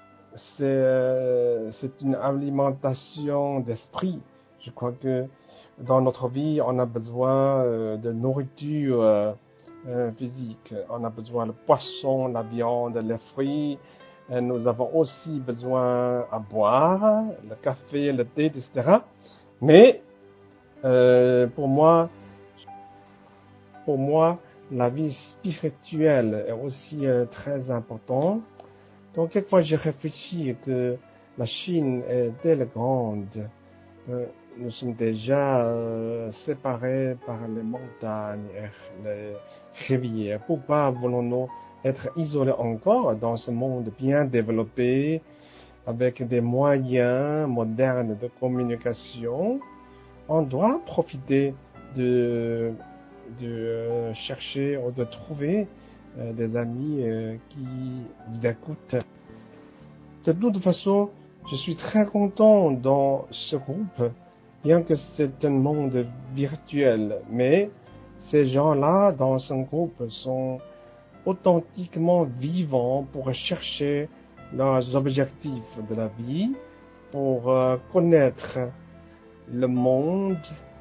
c'est, c'est une alimentation d'esprit. Je crois que dans notre vie, on a besoin euh, de nourriture euh, euh, physique. On a besoin de poisson, la viande, les fruits. Et nous avons aussi besoin à boire, le café, le thé, et cetera. Mais euh, pour moi, Pour moi, la vie spirituelle est aussi euh, très importante. Donc, quelquefois, je réfléchis que la Chine est telle grande. Euh, nous sommes déjà euh, séparés par les montagnes et les rivières. Pourquoi voulons-nous être isolés encore dans ce monde bien développé, avec des moyens modernes de communication? On doit profiter de de euh, chercher ou de trouver euh, des amis euh, qui vous écoutent. De toute façon, je suis très content dans ce groupe, bien que c'est un monde virtuel, mais ces gens-là dans ce groupe sont authentiquement vivants pour chercher leurs objectifs de la vie, pour euh, connaître le monde.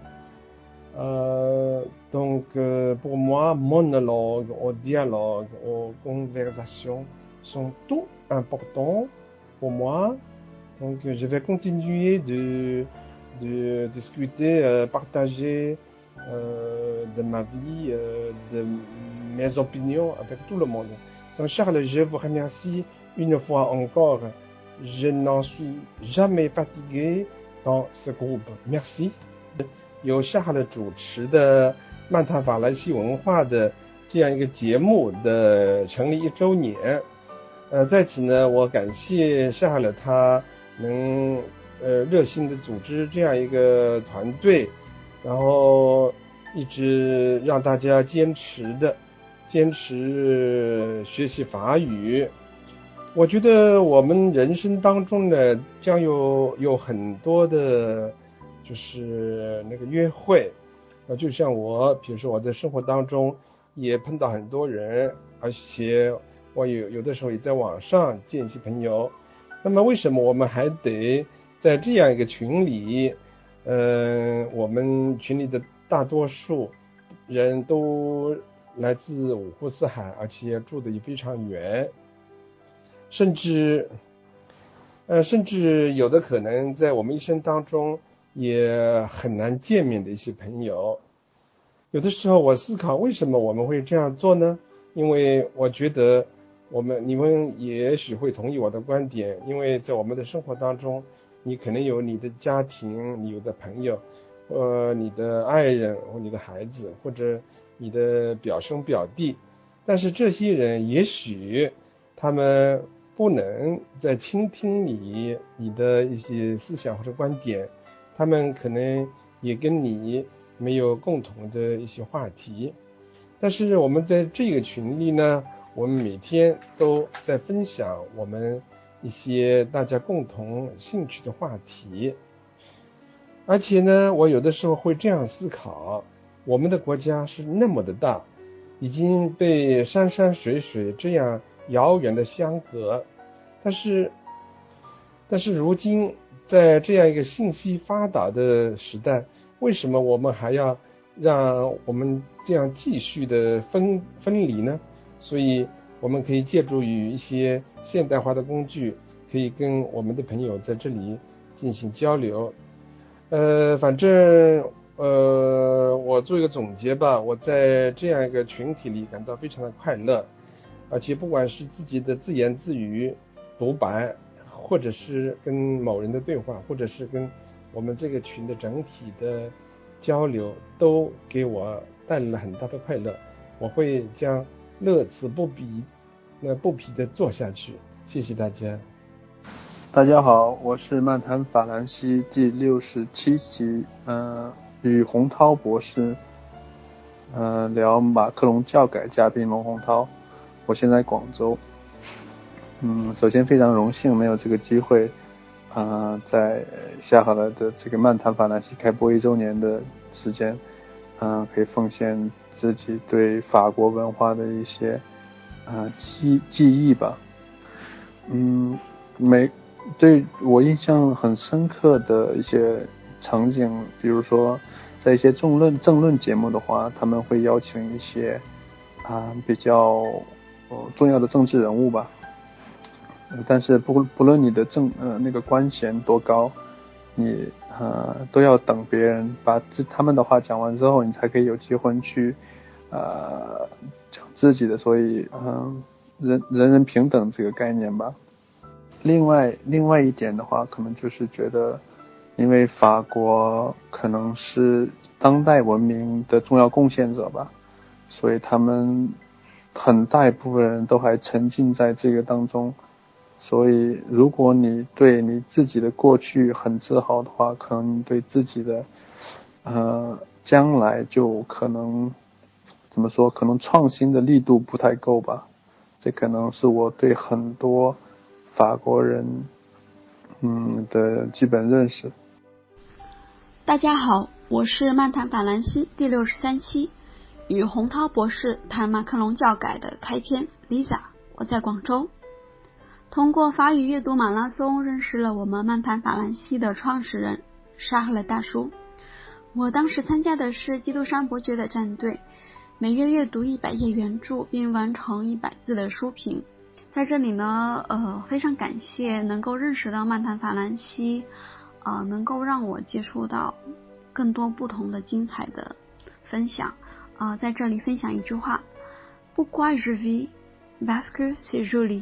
Euh, donc, euh, pour moi, monologue ou dialogue ou conversation sont tout importants pour moi. Donc, je vais continuer de, de discuter, euh, partager euh, de ma vie, euh, de mes opinions avec tout le monde. Donc Charles, je vous remercie une fois encore. Je n'en suis jamais fatigué dans ce groupe. Merci. 由 Charles 主持的漫谈法兰西文化的这样一个节目的成立一周年。呃，在此呢，我感谢 Charles 他能呃热心的组织这样一个团队，然后一直让大家坚持的坚持学习法语。我觉得我们人生当中呢，将有有很多的就是那个约会，呃，就像我，比如说我在生活当中也碰到很多人，而且我有有的时候也在网上见一些朋友。那么为什么我们还得在这样一个群里，嗯、呃，我们群里的大多数人都来自五湖四海，而且住的也非常远，甚至呃，甚至有的可能在我们一生当中也很难见面的一些朋友。有的时候我思考为什么我们会这样做呢？因为我觉得我们你们也许会同意我的观点，因为在我们的生活当中，你可能有你的家庭，你有的朋友，呃，你的爱人或你的孩子，或者你的表兄表弟，但是这些人也许他们不能再倾听你你的一些思想或者观点，他们可能也跟你没有共同的一些话题。但是我们在这个群里呢，我们每天都在分享我们一些大家共同兴趣的话题。而且呢，我有的时候会这样思考，我们的国家是那么的大，已经被山山水水这样遥远的相隔，但是但是如今在这样一个信息发达的时代，为什么我们还要让我们这样继续的分分离呢？所以我们可以借助于一些现代化的工具，可以跟我们的朋友在这里进行交流。呃，反正呃，我做一个总结吧，我在这样一个群体里感到非常的快乐，而且不管是自己的自言自语、独白，或者是跟某人的对话，或者是跟我们这个群的整体的交流，都给我带来了很大的快乐。我会将乐此不疲那不疲的做下去。谢谢大家。 大家好，我是漫谈法兰西第六十七期，呃，与洪涛博士，呃，聊马克龙教改嘉宾龙洪涛。我现在广州，嗯，首先非常荣幸能有这个机会，啊、呃，在下好了的这个漫谈法兰西开播一周年的时间，嗯、呃，可以奉献自己对法国文化的一些啊、呃、记记忆吧，嗯，每。对我印象很深刻的一些场景，比如说在一些政论政论节目的话，他们会邀请一些啊、呃、比较呃重要的政治人物吧，呃、但是不不论你的政呃那个官衔多高，你呃都要等别人把自他们的话讲完之后，你才可以有机会去呃讲自己的，所以嗯、呃、人人人平等这个概念吧。另外另外一点的话，可能就是觉得因为法国可能是当代文明的重要贡献者吧，所以他们很大一部分人都还沉浸在这个当中，所以如果你对你自己的过去很自豪的话，可能你对自己的呃将来就可能怎么说，可能创新的力度不太够吧。这可能是我对很多法国人嗯的基本认识。 大家好，我是漫谈法兰西第六十三期，与洪涛博士谈马克龙教改的开篇 Lisa， 我在广州。通过法语阅读马拉松认识了我们漫谈法兰西的创始人沙赫勒大叔。我当时参加的是基督山伯爵的战队，每月阅读一百页原著并完成一百字的书评。在这里呢，呃，非常感谢能够认识到漫谈法兰西，呃，能够让我接触到更多不同的精彩的分享，呃，在这里分享一句话 Pourquoi je vis? Parce que c'est joli.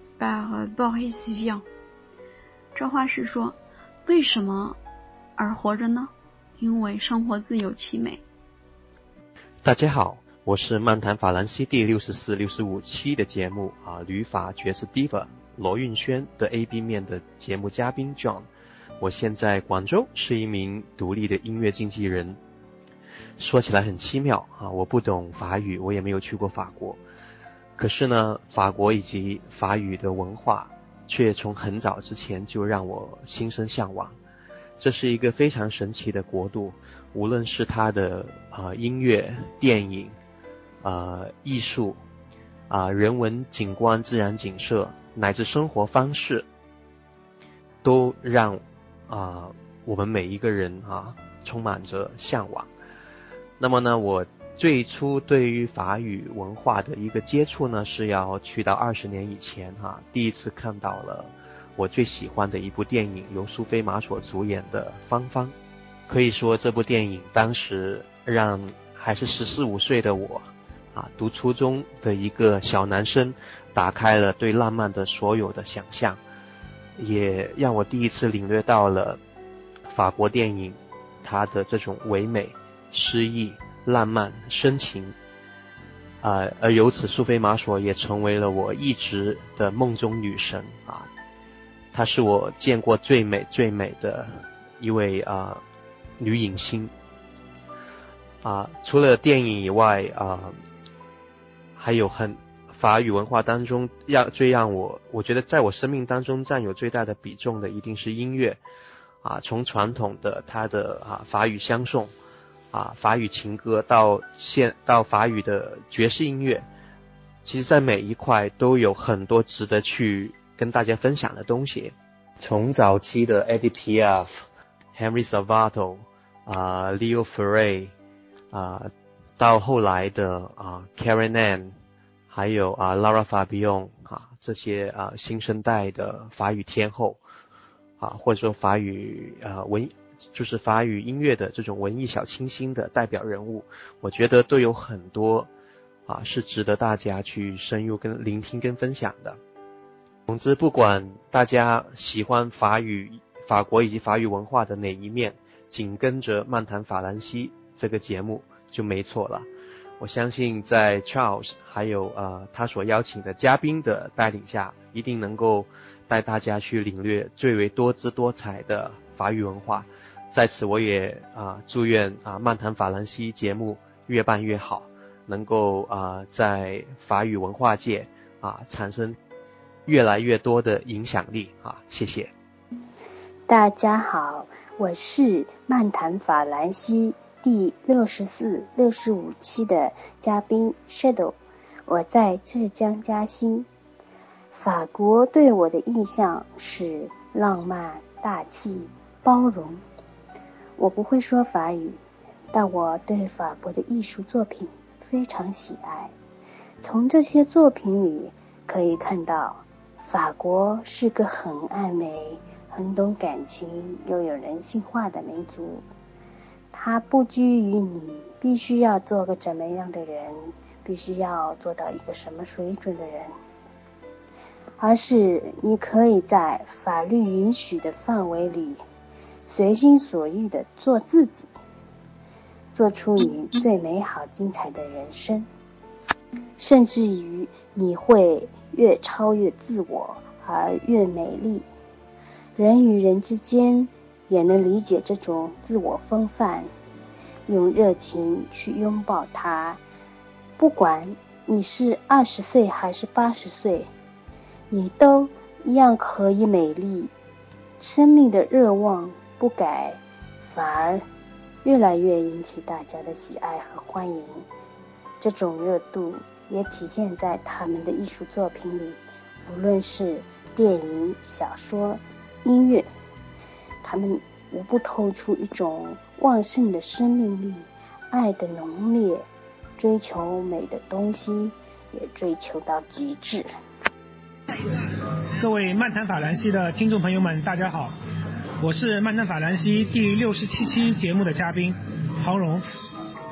Par Boris Vian。 这话是说，为什么而活着呢？因为生活自有其美。 大家好，我是漫谈法兰西第六十四、六十五期的节目啊，旅法爵士 Diva 罗运轩的 A B 面的节目嘉宾 John。我现在广州是一名独立的音乐经纪人。说起来很奇妙啊，我不懂法语，我也没有去过法国，可是呢，法国以及法语的文化却从很早之前就让我心生向往。这是一个非常神奇的国度，无论是它的呃音乐、电影、呃艺术、啊、呃、人文景观、自然景色，乃至生活方式，都让啊、呃、我们每一个人啊充满着向往。那么呢，我最初对于法语文化的一个接触呢，是要去到二十年以前哈、啊，第一次看到了我最喜欢的一部电影，由苏菲玛索主演的《芳芳》。可以说这部电影当时让还是十四五岁的我啊，读初中的一个小男生打开了对浪漫的所有的想象，也让我第一次领略到了法国电影它的这种唯美、诗意、浪漫、深情啊、呃，而由此苏菲玛索也成为了我一直的梦中女神啊，她是我见过最美最美的一位啊、呃、女影星啊。除了电影以外啊，还有很法语文化当中让最让我我觉得在我生命当中占有最大的比重的一定是音乐啊，从传统的它的啊法语相送啊，法语情歌到现到法语的爵士音乐，其实在每一块都有很多值得去跟大家分享的东西。从早期的 Edith Piaf、Henry Salvato 啊、呃、Leo Ferré 啊、呃，到后来的啊 Karen Ann， 还有啊 Lara Fabian 啊这些啊新生代的法语天后啊，或者说法语啊文。就是法语音乐的这种文艺小清新的代表人物，我觉得都有很多啊是值得大家去深入跟聆听跟分享的。总之，不管大家喜欢法语、法国以及法语文化的哪一面，紧跟着漫谈法兰西这个节目就没错了。我相信在 Charles 还有呃他所邀请的嘉宾的带领下，一定能够带大家去领略最为多姿多彩的法语文化。在此我也啊祝愿啊漫谈法兰西节目越办越好，能够啊在法语文化界啊产生越来越多的影响力啊，谢谢。 大家好，我是漫谈法兰西第六十四、六十五期的嘉宾 Shadow， 我在浙江嘉兴。法国对我的印象是浪漫、大气、包容。我不会说法语，但我对法国的艺术作品非常喜爱。从这些作品里可以看到，法国是个很爱美、很懂感情又有人性化的民族。它不拘于你必须要做个怎么样的人，必须要做到一个什么水准的人，而是你可以在法律允许的范围里随心所欲地做自己，做出你最美好精彩的人生，甚至于你会越超越自我而越美丽。人与人之间也能理解这种自我风范，用热情去拥抱它。不管你是二十岁还是八十岁，你都一样可以美丽。生命的热望不改，反而越来越引起大家的喜爱和欢迎。这种热度也体现在他们的艺术作品里，无论是电影、小说、音乐，他们无不透出一种旺盛的生命力，爱的浓烈，追求美的东西也追求到极致。 各位漫谈法兰西的听众朋友们，大家好，我是漫谈法兰西第六十七期节目的嘉宾黄蓉。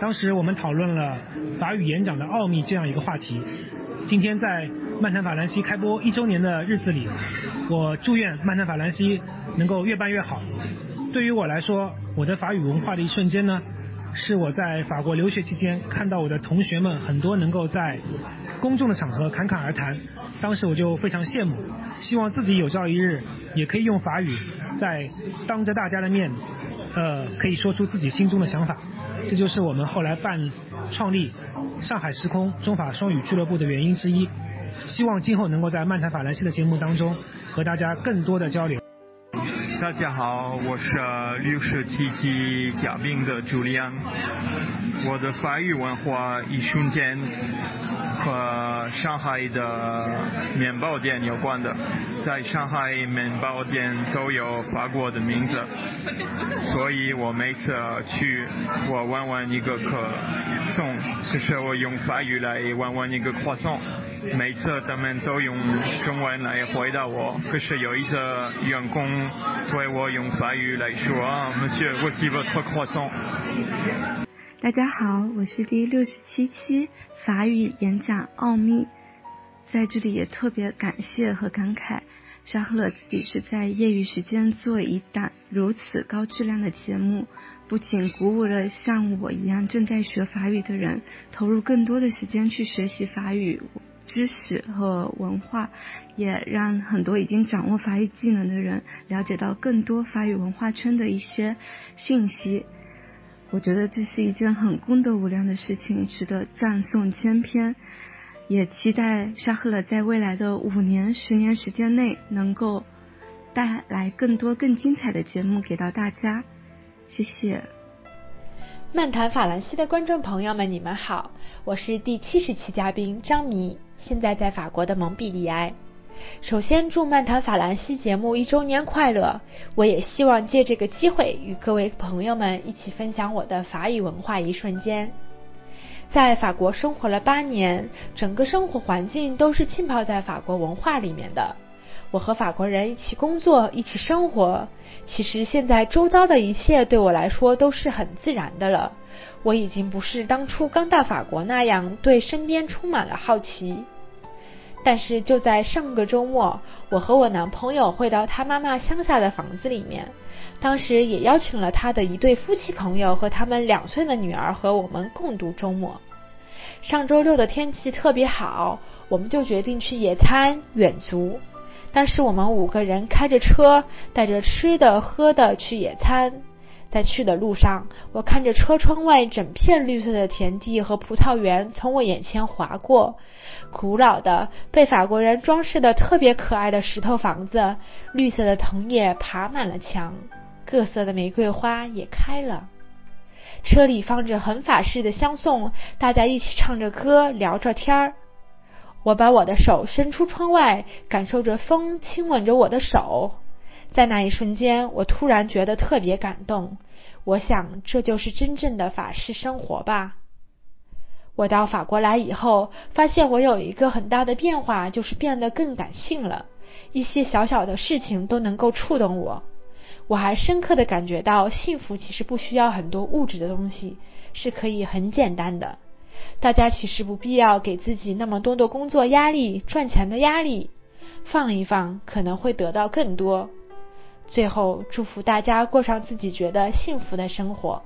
当时我们讨论了法语演讲的奥秘这样一个话题。今天在漫谈法兰西开播一周年的日子里，我祝愿漫谈法兰西能够越办越好。对于我来说，我的法语文化的一瞬间呢，是我在法国留学期间看到我的同学们很多能够在公众的场合侃侃而谈，当时我就非常羡慕，希望自己有朝一日也可以用法语在当着大家的面呃，可以说出自己心中的想法。这就是我们后来办创立上海时空中法双语俱乐部的原因之一，希望今后能够在漫谈法兰西的节目当中和大家更多的交流。 大家好，我是六十七期嘉宾的朱利安。我的法语文化一瞬间和上海的面包店有关的，在上海面包店都有法国的名字，所以我每次去我问问一个可颂，可是我用法语来问问一个croissant送，每次他们都用中文来回答我，可是有一个员工对我用法语来说啊 Monsieur voici votre croissant。 大家好，我是第六十七期法语演讲奥秘，在这里也特别感谢和感慨沙赫勒自己是在业余时间做一档如此高质量的节目，不仅鼓舞了像我一样正在学法语的人投入更多的时间去学习法语知识和文化，也让很多已经掌握法语技能的人了解到更多法语文化圈的一些信息。我觉得这是一件很功德无量的事情，值得赞颂千篇，也期待沙赫勒在未来的五年十年时间内能够带来更多更精彩的节目给到大家。谢谢。 漫谈法兰西的观众朋友们，你们好，我是第七十期嘉宾张迷，现在在法国的蒙彼利埃。首先祝漫谈法兰西节目一周年快乐，我也希望借这个机会与各位朋友们一起分享我的法语文化一瞬间。在法国生活了八年，整个生活环境都是浸泡在法国文化里面的。我和法国人一起工作，一起生活，其实现在周遭的一切对我来说都是很自然的了。我已经不是当初刚到法国那样对身边充满了好奇。但是就在上个周末，我和我男朋友会到他妈妈乡下的房子里面，当时也邀请了他的一对夫妻朋友和他们两岁的女儿和我们共度周末。上周六的天气特别好，我们就决定去野餐远足。当时我们五个人开着车，带着吃的喝的去野餐。在去的路上，我看着车窗外整片绿色的田地和葡萄园从我眼前划过，古老的被法国人装饰的特别可爱的石头房子，绿色的藤叶爬满了墙，各色的玫瑰花也开了。车里放着很法式的香颂，大家一起唱着歌聊着天儿。我把我的手伸出窗外，感受着风亲吻着我的手。在那一瞬间，我突然觉得特别感动，我想这就是真正的法式生活吧。我到法国来以后，发现我有一个很大的变化，就是变得更感性了，一些小小的事情都能够触动我。我还深刻地感觉到幸福其实不需要很多物质的东西，是可以很简单的。大家其实不必要给自己那么多的工作压力、赚钱的压力，放一放可能会得到更多。最后祝福大家过上自己觉得幸福的生活。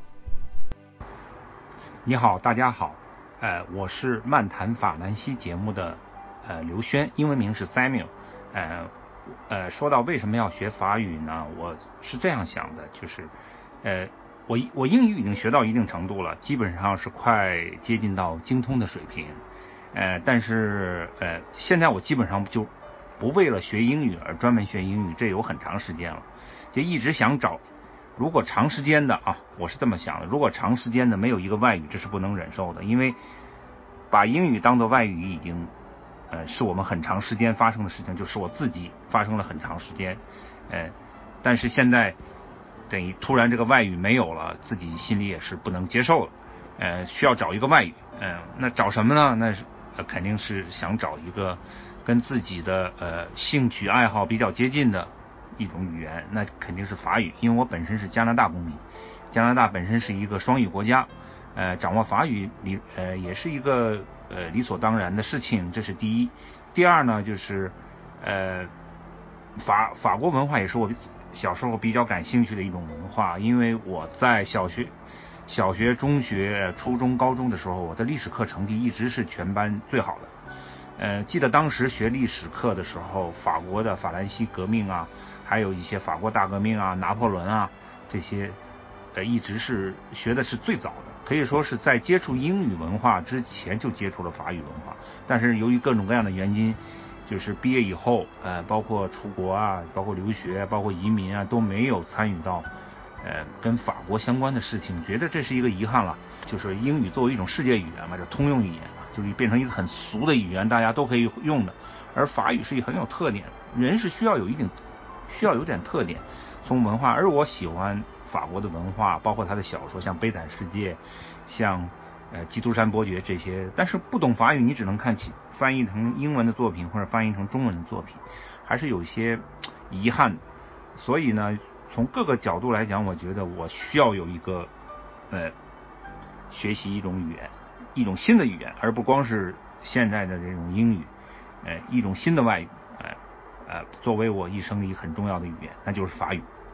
你好，大家好，呃，我是漫谈法兰西节目的呃刘轩，英文名是 Samuel。呃呃，说到为什么要学法语呢？我是这样想的，就是呃我我英语已经学到一定程度了，基本上是快接近到精通的水平。呃，但是呃现在我基本上就不为了学英语而专门学英语，这有很长时间了，就一直想找，如果长时间的啊，我是这么想的，如果长时间的没有一个外语，这是不能忍受的，因为把英语当作外语已经呃是我们很长时间发生的事情，就是我自己发生了很长时间，呃，但是现在等于突然这个外语没有了，自己心里也是不能接受了，呃，需要找一个外语，嗯、呃，那找什么呢？那是、呃、肯定是想找一个跟自己的呃兴趣爱好比较接近的一种语言，那肯定是法语，因为我本身是加拿大公民，加拿大本身是一个双语国家， 呃，掌握法语理呃也是一个呃理所当然的事情，这是第一。第二呢，就是呃法法国文化也是我小时候比较感兴趣的一种文化，因为我在小学、小学、中学、初中、高中的时候，我的历史课成绩一直是全班最好的。呃，记得当时学历史课的时候，法国的法兰西革命啊，还有一些法国大革命啊、拿破仑啊这些，呃，一直是学的是最早的，可以说是在接触英语文化之前就接触了法语文化。但是由于各种各样的原因，就是毕业以后，呃，包括出国啊，包括留学，包括移民啊，都没有参与到，呃，跟法国相关的事情，觉得这是一个遗憾了。就是英语作为一种世界语言嘛，就通用语言啊，就是变成一个很俗的语言，大家都可以用的。而法语是一个很有特点，人是需要有一定，需要有点特点，从文化。而我喜欢法国的文化，包括他的小说，像《悲惨世界》，像呃《基督山伯爵》这些。但是不懂法语，你只能看起翻译成英文的作品或者翻译成中文的作品，还是有一些遗憾。所以呢，从各个角度来讲，我觉得我需要有一个呃。学习一种语言，一种新的语言，而不光是现在的这种英语，呃，一种新的外语，呃，呃，作为我一生里很重要的语言，那就是法语。